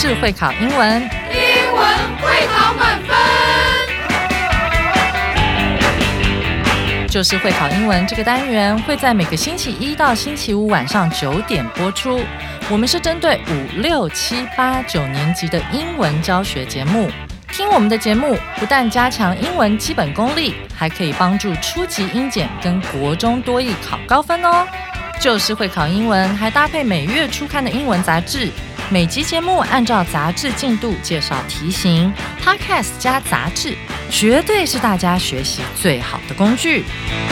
就是会考英文， 英文会考满分。 就是会考英文这个单元会在每个星期一到星期五晚上9点播出。我们是针对5、6、7、8、9年级的英文教学节目。听我们的节目，不但加强英文基本功力，还可以帮助初级英检跟国中多益考高分哦。就是会考英文，还搭配每月初刊的英文杂志。每集节目按照杂志进度介绍题型 ，Podcast 加杂志，绝对是大家学习最好的工具。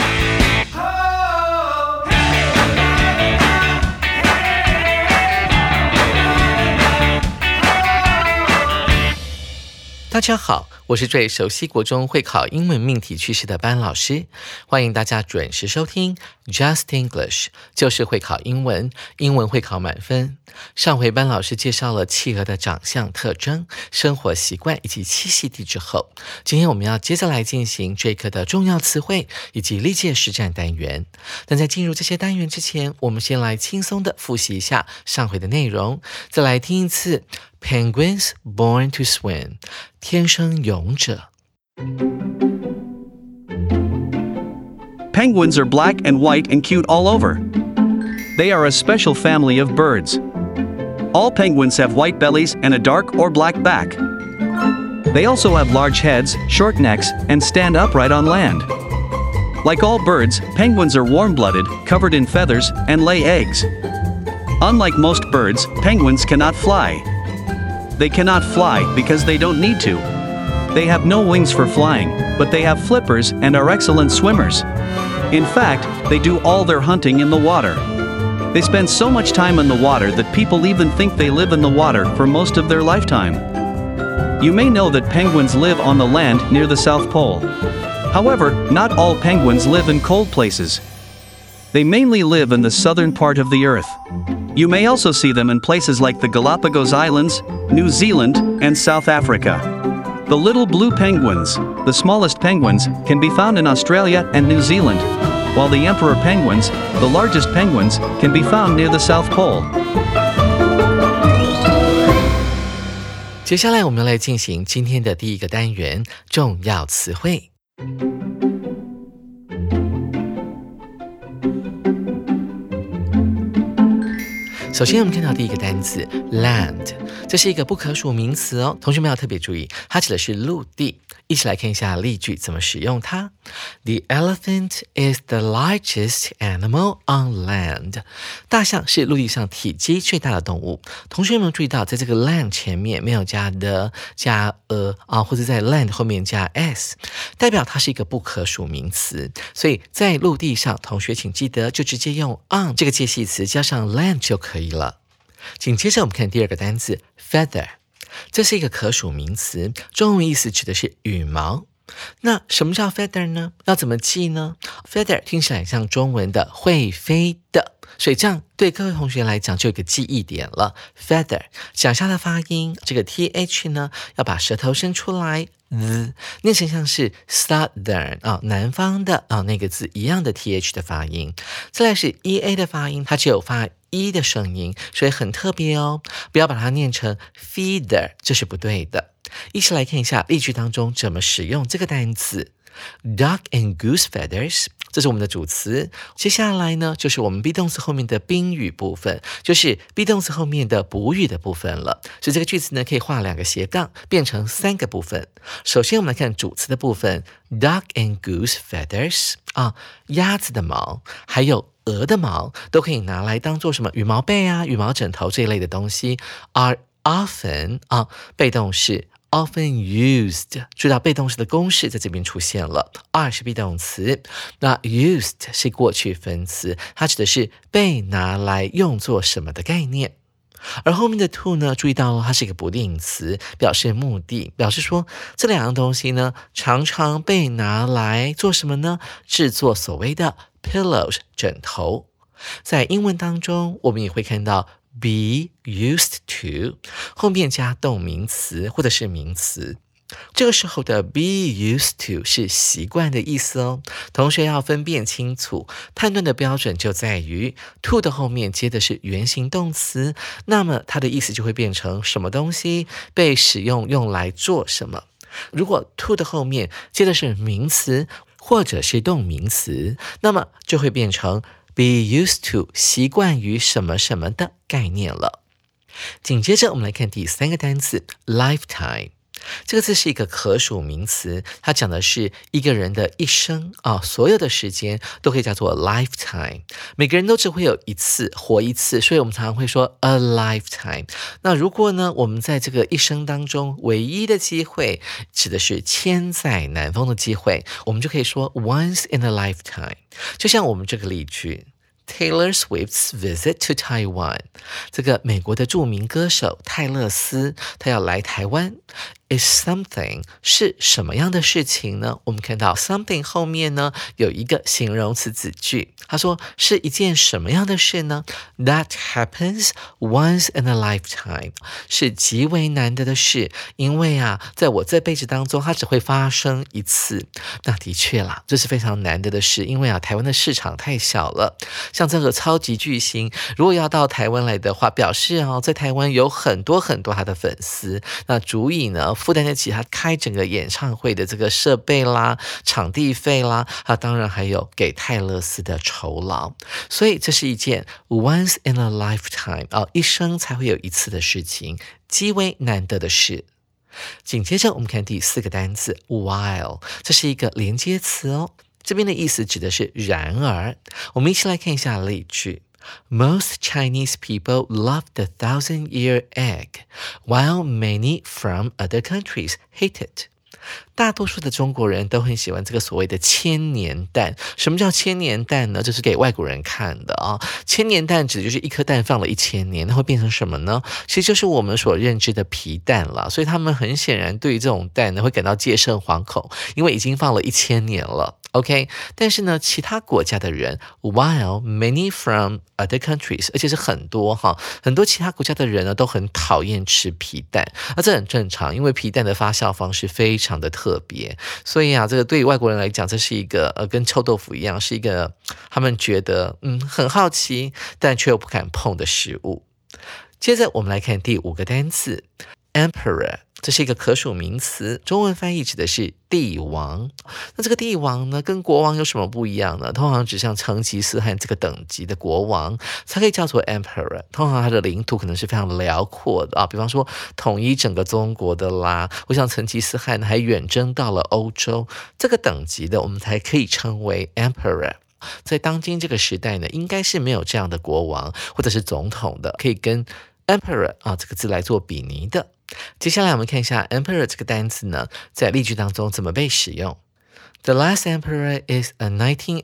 大家好，我是最熟悉国中会考英文命题趋势的班老师，欢迎大家准时收听 Just English， 就是会考英文，英文会考满分。上回班老师介绍了企鹅的长相特征、生活习惯以及栖息地之后，今天我们要接着来进行这课的重要词汇以及历届实战单元。但在进入这些单元之前，我们先来轻松的复习一下上回的内容，再来听一次 Penguins born to swim， 天生泳者。 Penguins are black and white and cute all over. They are a special family of birds. All penguins have white bellies and a dark or black back. They also have large heads, short necks, and stand upright on land. Like all birds, penguins are warm-blooded, covered in feathers, and lay eggs. Unlike most birds, penguins cannot fly. They cannot fly because they don't need to. They have no wings for flying, but they have flippers and are excellent swimmers. In fact, they do all their hunting in the water. They spend so much time in the water that people even think they live in the water for most of their lifetime. You may know that penguins live on the land near the South Pole. However, not all penguins live in cold places. They mainly live in the southern part of the earth. You may also see them in places like the Galapagos Islands, New Zealand, and South Africa. The little blue penguins, the smallest penguins, can be found in Australia and New Zealand, while the emperor penguins, the largest penguins, can be found near the South Pole. 接下来我们来进行今天的第一个单元，重要词汇。首先我们看到第一个单词 land， 这是一个不可数名词哦，同学们要特别注意，它指的是陆地。一起来看一下例句怎么使用它。The elephant is the largest animal on land。 大象是陆地上体积最大的动物。同学们注意到，在这个 land 前面没有加 the 加或者在 land 后面加 s， 代表它是一个不可数名词。所以在陆地上，同学请记得就直接用 on 这个介系词加上 land 就可以了。紧接着我们看第二个单词 feather， 这是一个可数名词，中文意思指的是羽毛。那什么叫 feather 呢？要怎么记呢？ feather 听起来像中文的会飞的，所以这样对各位同学来讲就有一个记忆点了。feather 讲下的发音，这个 th 呢要把舌头伸出来，念成像是 southern 南方的那个字一样的 th 的发音。再来是 ea 的发音，它只有发的声音，所以很特别哦，不要把它念成 feather， 这是不对的。一起来看一下例句当中怎么使用这个单词。Duck and goose feathers， 这是我们的主词。接下来呢，就是我们 be 动词后面的宾语部分，就是 be 动词后面的补语的部分了。所以这个句子呢，可以画2个斜杠，变成3个部分。首先我们来看主词的部分 ，Duck and goose feathers， 鸭子的毛，还有鹅的毛，都可以拿来当做什么羽毛被啊、羽毛枕头这一类的东西。Are often 被动式。often used， 注意到被动式的公式在这边出现了。are 是 be 动词，那 used 是过去分词，它指的是被拿来用作什么的概念。而后面的 to 呢，注意到它是一个不定词，表示目的，表示说这2样东西呢，常常被拿来做什么呢？制作所谓的 pillows 枕头。在英文当中，我们也会看到be used to 后面加动名词或者是名词。 这个时候的 be used to 是习惯的意思哦。同学要分辨清楚，判断的标准就在于 to 的后面接的是原形动词，那么它的意思就会变成什么东西被使用用来做什么。如果 to 的后面接的是名词或者是动名词，那么就会变成 be used to 习惯于什么什么的概念了。紧接着我们来看第3个单词 lifetime。这个字是一个可数名词，它讲的是一个人的一生所有的时间都可以叫做 lifetime。每个人都只会有一次活一次，所以我们常常会说 a lifetime。那如果呢，我们在这个一生当中唯一的机会指的是千载难逢的机会，我们就可以说 once in a lifetime。就像我们这个例句Taylor Swift's visit to Taiwan， 这个美国的著名歌手泰勒斯，他要来台湾。Is something 是什么样的事情呢？我们看到 something 后面呢有一个形容词子句，他说是一件什么样的事呢？ That happens once in a lifetime， 是极为难得的事，因为在我这辈子当中它只会发生一次。那的确啦，这是非常难得的事，因为台湾的市场太小了，像这个超级巨星如果要到台湾来的话，表示在台湾有很多很多他的粉丝，那足以呢负担得起他开整个演唱会的这个设备啦、场地费啦，当然还有给泰勒斯的酬劳。所以这是一件 once in a lifetime 一生才会有一次的事情，极为难得的事。紧接着我们看第4个单字 while， 这是一个连接词哦，这边的意思指的是然而。我们一起来看一下例句。Most Chinese people love the 1,000-year egg, while many from other countries hate it. 大多数的中国人都很喜欢这个所谓的千年蛋。什么叫千年蛋呢？这是给外国人看的千年蛋指的就是一颗蛋放了1000年，那会变成什么呢？其实就是我们所认知的皮蛋了。所以他们很显然对于这种蛋呢会感到戒慎惶恐，因为已经放了1000年了。OK， 但是呢，其他国家的人 while many from other countries， 而且是很多其他国家的人呢都很讨厌吃皮蛋。那这很正常，因为皮蛋的发酵方式非常的特别，所以这个对于外国人来讲，这是一个跟臭豆腐一样，是一个他们觉得很好奇，但却又不敢碰的食物。接着我们来看第5个单词 emperor。这是一个可数名词，中文翻译指的是帝王。那这个帝王呢，跟国王有什么不一样呢？通常只像成吉思汗这个等级的国王才可以叫做 emperor。通常他的领土可能是非常辽阔的比方说统一整个中国的啦。我想成吉思汗还远征到了欧洲，这个等级的我们才可以称为 emperor。在当今这个时代呢，应该是没有这样的国王或者是总统的，可以跟 emperor 这个字来做比拟的。接下来我们看一下 emperor 这个单词呢，在例句当中怎么被使用。The Last Emperor is a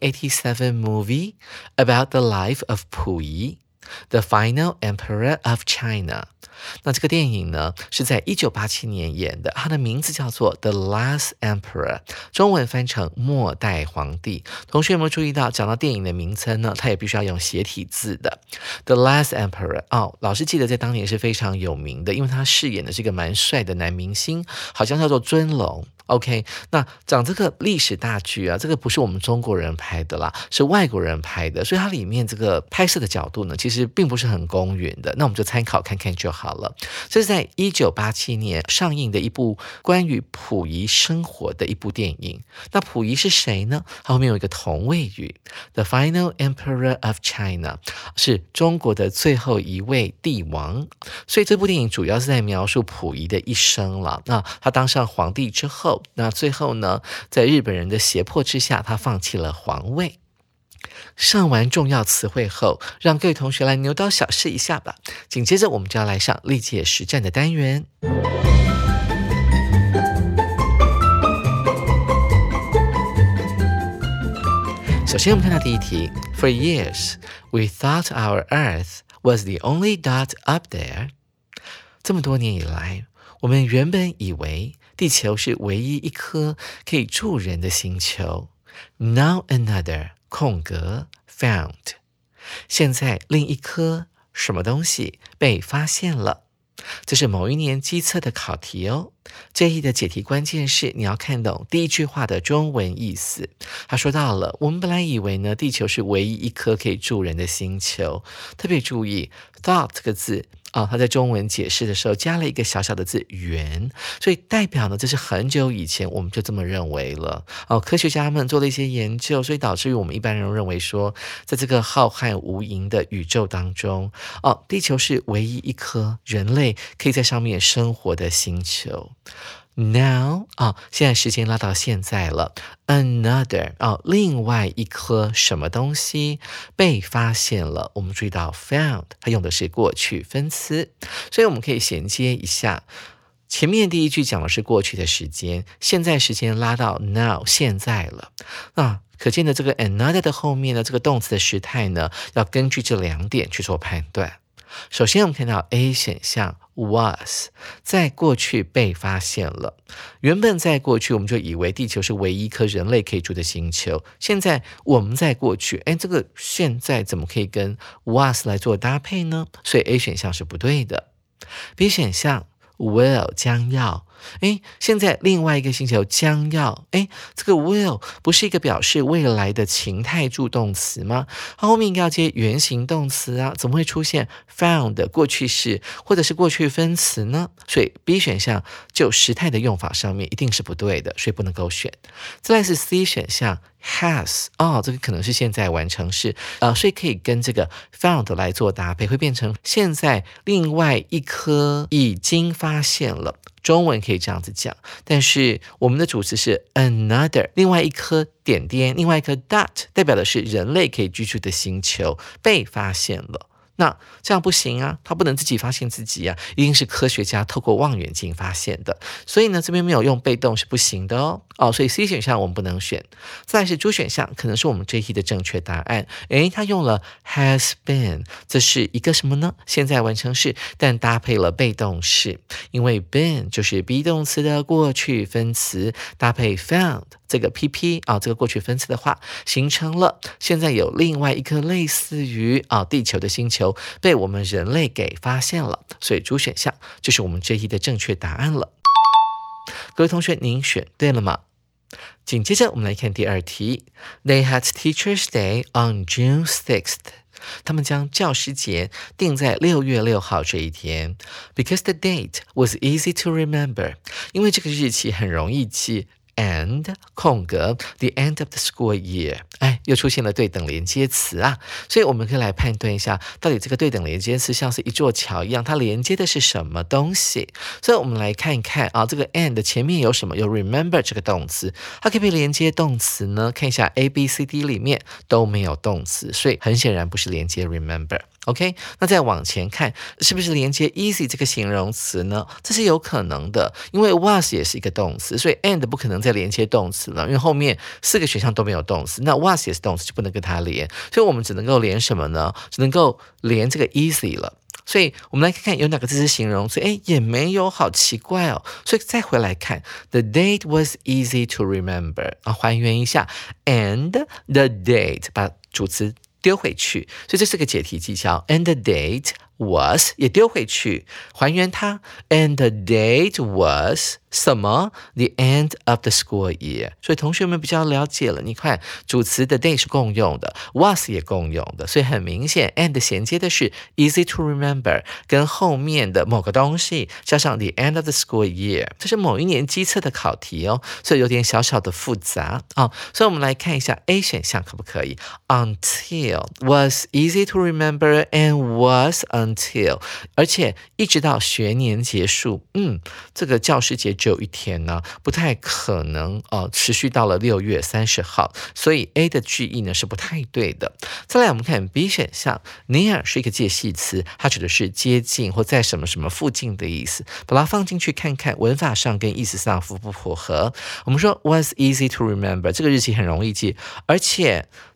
1987 movie about the life of Pu Yi, the final emperor of China. 那这个电影呢是在1987年演的，它的名字叫做 The Last Emperor， 中文翻成末代皇帝。同学有没有注意到，讲到电影的名称呢，它也必须要用斜体字的 The Last Emperor。老师记得在当年是非常有名的，因为他饰演的是一个蛮帅的男明星，好像叫做尊龙。OK， 那讲这个历史大剧这个不是我们中国人拍的啦，是外国人拍的，所以它里面这个拍摄的角度呢，其实并不是很公允的。那我们就参考看看就好了。这是在1987年上映的一部关于溥仪生活的一部电影。那溥仪是谁呢？它后面有一个同位语 The final emperor of China， 是中国的最后一位帝王。所以这部电影主要是在描述溥仪的一生了。那他当上皇帝之后，那最后呢，在日本人的胁迫之下，他放弃了皇位。上完重要词汇后，让各位同学来牛刀小试一下吧。紧接着我们就要来上历届实战的单元。首先我们看到第一题 For years, we thought our Earth was the only dot up there. 这么多年以来，我们原本以为地球是唯一一颗可以住人的星球。Now another 空格 found， 现在另一颗什么东西被发现了。 这是某一年机测的考题哦。这一的解题关键是你要看懂第一句话的中文意思。他说到了，我们本来以为呢，地球是唯一一颗可以住人的星球。特别注意 thought 这个字他在中文解释的时候加了一个小小的字圆，所以代表呢，这是很久以前我们就这么认为了。科学家们做了一些研究，所以导致于我们一般人认为说，在这个浩瀚无垠的宇宙当中，地球是唯一一颗人类可以在上面生活的星球。Now 现在时间拉到现在了 ，another 另外一颗什么东西被发现了。我们注意到 found 它用的是过去分词，所以我们可以衔接一下。前面第一句讲的是过去的时间，现在时间拉到 now 现在了。那可见的这个 another 的后面呢，这个动词的时态呢，要根据这2点去做判断。首先我们看到 A 选项 was 在过去被发现了。原本在过去我们就以为地球是唯一一颗人类可以住的星球，现在我们在过去，这个现在怎么可以跟 was 来做搭配呢？所以 A 选项是不对的。B 选项 will 将要，现在另外一个星球将要，这个 will 不是一个表示未来的情态助动词吗？它后面应该要接原形动词啊，怎么会出现 found 的过去式或者是过去分词呢？所以 B 选项就时态的用法上面一定是不对的，所以不能够选。再来是 C 选项 has 这个可能是现在完成式所以可以跟这个 found 来做搭配，会变成现在另外一颗已经发现了。中文可以这样子讲，但是我们的主词是 another 另外一颗点点，另外一颗 dot 代表的是人类可以居住的星球被发现了。那这样不行啊，他不能自己发现自己啊，一定是科学家透过望远镜发现的。所以呢，这边没有用被动是不行的哦。所以 C 选项我们不能选。再来是 D 选项，可能是我们这一题的正确答案。他用了 has been， 这是一个什么呢？现在完成式，但搭配了被动式，因为 been 就是 be 动词的过去分词，搭配 found。这个 PP 这个过去分词的话，形成了现在有另外一颗类似于地球的星球被我们人类给发现了，所以主选项就是我们这一题的正确答案了。各位同学，您选对了吗？紧接着我们来看第2题 They had Teachers' Day on June 6th。他们将教师节定在6月6号这一天 ，because the date was easy to remember， 因为这个日期很容易记。And 空格 the end of the school year， 又出现了对等连接词啊，所以我们可以来判断一下，到底这个对等连接词像是一座桥一样，它连接的是什么东西？所以我们来看一看这个 and 前面有什么？有 remember 这个动词，它可不可以连接动词呢？看一下 A、B、C、D 里面都没有动词，所以很显然不是连接 remember。OK， 那再往前看，是不是连接 easy 这个形容词呢？这是有可能的，因为 was 也是一个动词，所以 and 不可能再连接动词了，因为后面4个选项都没有动词，那 was 也是动词，就不能跟它连，所以我们只能够连什么呢？只能够连这个 easy 了。所以我们来看看有哪个字是形容词，也没有，好奇怪哦。所以再回来看 ，the date was easy to remember 还原一下 ，and the date 把主词丢回去，所以这是个解题技巧 ，and the date was 也丢回去，还原它 ，and the date was 什么 ？The end of the school year。所以同学们比较了解了，你看主词的 day 是共用的 ，was 也共用的，所以很明显 and 衔接的是 easy to remember， 跟后面的某个东西加上 the end of the school year， 这是某一年机测的考题哦，所以有点小小的复杂所以我们来看一下 A 选项可不可以 ？Until was easy to remember and was until， 而且一直到学年结束，这个教师节只有1天呢，不太可能持续到了6月30号，所以 A 的句意呢是不太对的。再来我们看 B 选项 ，near 是一个介系词，它指的是接近或在什么什么附近的意思，把它放进去看看文法上跟意思上符不符合。我们说 was easy to remember 这个日期很容易记，而且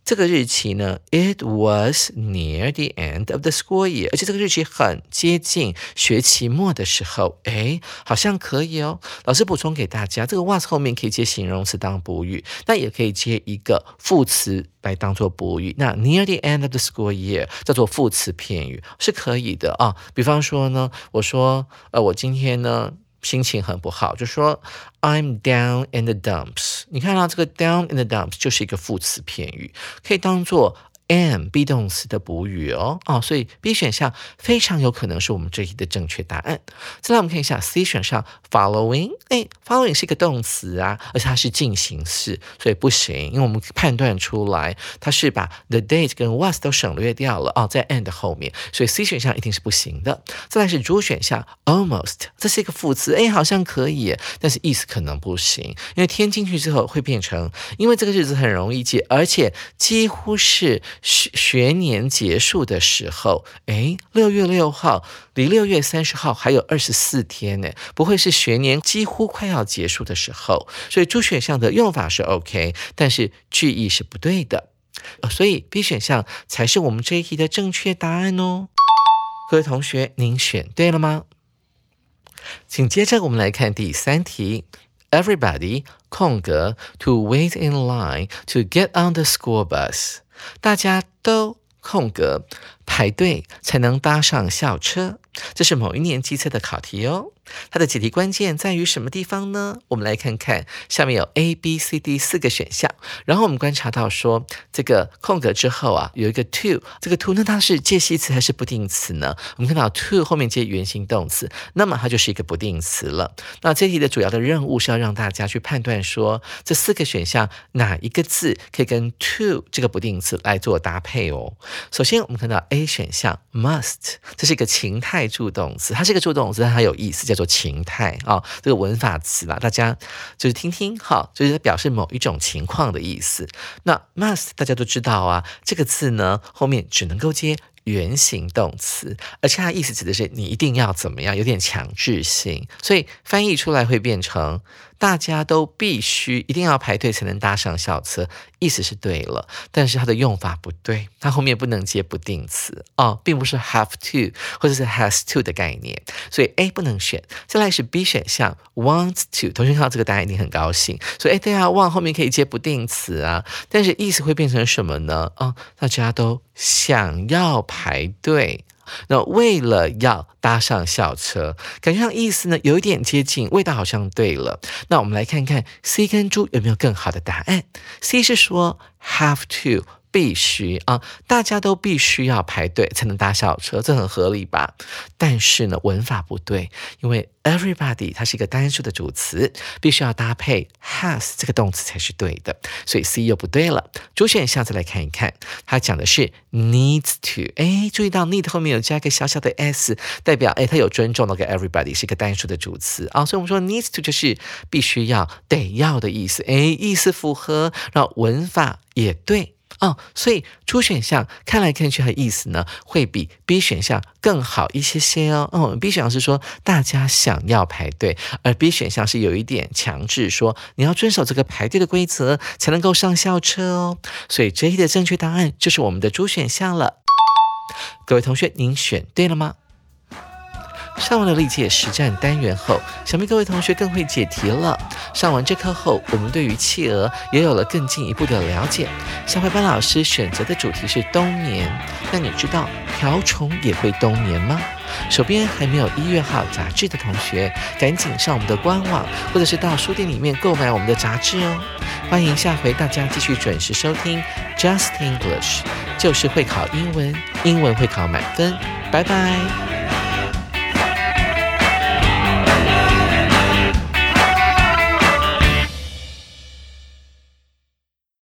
这个日期呢 ，it was near the end of the school year， 而且这个日期很接近学期末的时候，好像可以哦。老师补充给大家，这个 was 后面可以接形容词当补语，那也可以接一个副词来当做补语。那 near the end of the school year 叫做副词片语，是可以的啊。比方说呢，我说我今天呢心情很不好，就说 I'm down in the dumps。 你看到这个 down in the dumps 就是一个副词片语，可以当做 am be 动词的补语哦。所以 B 选项非常有可能是我们这一题的正确答案。再来我们看一下 C 选项 following， following 是一个动词啊，而且它是进行式，所以不行，因为我们判断出来它是把 the date 跟 was 都省略掉了在 and 后面，所以 C 选项一定是不行的。再来是 D 选项 almost， 这是一个副词，好像可以，但是意思可能不行，因为添进去之后会变成，因为这个日子很容易记，而且几乎是学年结束的时候，6月6号离6月30号还有24天呢，不会是学年几乎快要结束的时候，所以D选项的用法是 OK， 但是句意是不对的，所以 B 选项才是我们这一题的正确答案哦。各位同学，您选对了吗？请接着我们来看第3题。Everybody 空格 to wait in line to get on the school bus， 大家都空格排队才能搭上校车，这是某一年机测的考题哦。它的解题关键在于什么地方呢？我们来看看，下面有 A、B、C、D 4个选项，然后我们观察到说，这个空格之后有一个 to， 这个 to 那它是介系词还是不定词呢？我们看到 to 后面接原形动词，那么它就是一个不定词了。那这题的主要的任务是要让大家去判断说，这4个选项哪一个字可以跟 to 这个不定词来做搭配哦。首先我们看到 A 选项 must， 这是一个情态助动词，它是一个助动词，但它有意思，叫做情态这个文法词啦，大家就是听听就是表示某一种情况的意思。那 must 大家都知道这个字呢后面只能够接原形动词，而且它的意思指的是你一定要怎么样，有点强制性，所以翻译出来会变成大家都必须一定要排队才能搭上校车，意思是对了，但是它的用法不对，它后面不能接不定词并不是 have to 或者是 has to 的概念，所以 A 不能选。再来是 B 选项 want to， 同学看到这个答案一定很高兴，所以对want 后面可以接不定词但是意思会变成什么呢？大家都想要排队，那为了要搭上校车，感觉上意思呢有一点接近，味道好像对了。那我们来看看 C 跟D 有没有更好的答案。 C 是说 have to，必须大家都必须要排队才能搭校车，这很合理吧？但是呢，文法不对，因为 everybody 它是一个单数的主词，必须要搭配 has 这个动词才是对的，所以 C 又不对了。主选项再来看一看，它讲的是 needs to， 注意到 need 后面有加一个小小的 s， 代表它有尊重那个 everybody 是一个单数的主词所以我们说 needs to 就是必须要得要的意思，意思符合，然后文法也对所以主选项看来看去的意思呢，会比 B 选项更好一些些B 选项是说大家想要排队，而 B 选项是有一点强制说你要遵守这个排队的规则才能够上校车所以这一题的正确答案就是我们的主选项了。各位同学，您选对了吗？上完了历届实战单元后，想必各位同学更会解题了。上完这课后，我们对于企鹅也有了更进一步的了解。下回班老师选择的主题是冬眠，那你知道瓢虫也会冬眠吗？手边还没有1月号杂志的同学，赶紧上我们的官网，或者是到书店里面购买我们的杂志哦。欢迎下回大家继续准时收听 Just English， 就是会考英文，英文会考满分。拜拜。